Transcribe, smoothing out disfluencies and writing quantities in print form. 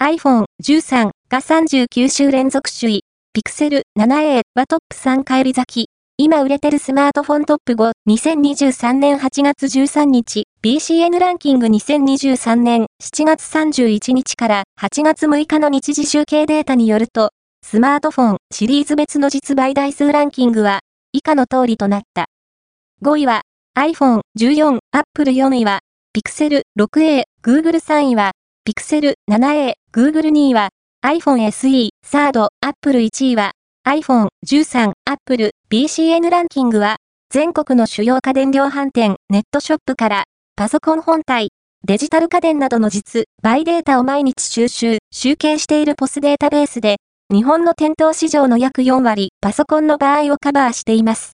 iPhone 13が39週連続首位。Pixel 7a はトップ3返り咲き。今売れてるスマートフォントップ5、2023年8月13日、BCN ランキング2023年7月31日から8月6日の日時集計データによると、スマートフォンシリーズ別の実売台数ランキングは以下の通りとなった。5位は iPhone 14、Apple 4位は Pixel 6a、Google 3位は Pixel 7a、Google 2位は iPhone SE、3rd、Apple 1位はiPhone 13、Apple、BCN ランキングは、全国の主要家電量販店、ネットショップから、パソコン本体、デジタル家電などの実売データを毎日集計しているPOSデータベースで、日本の店頭市場の約4割、パソコンの場合をカバーしています。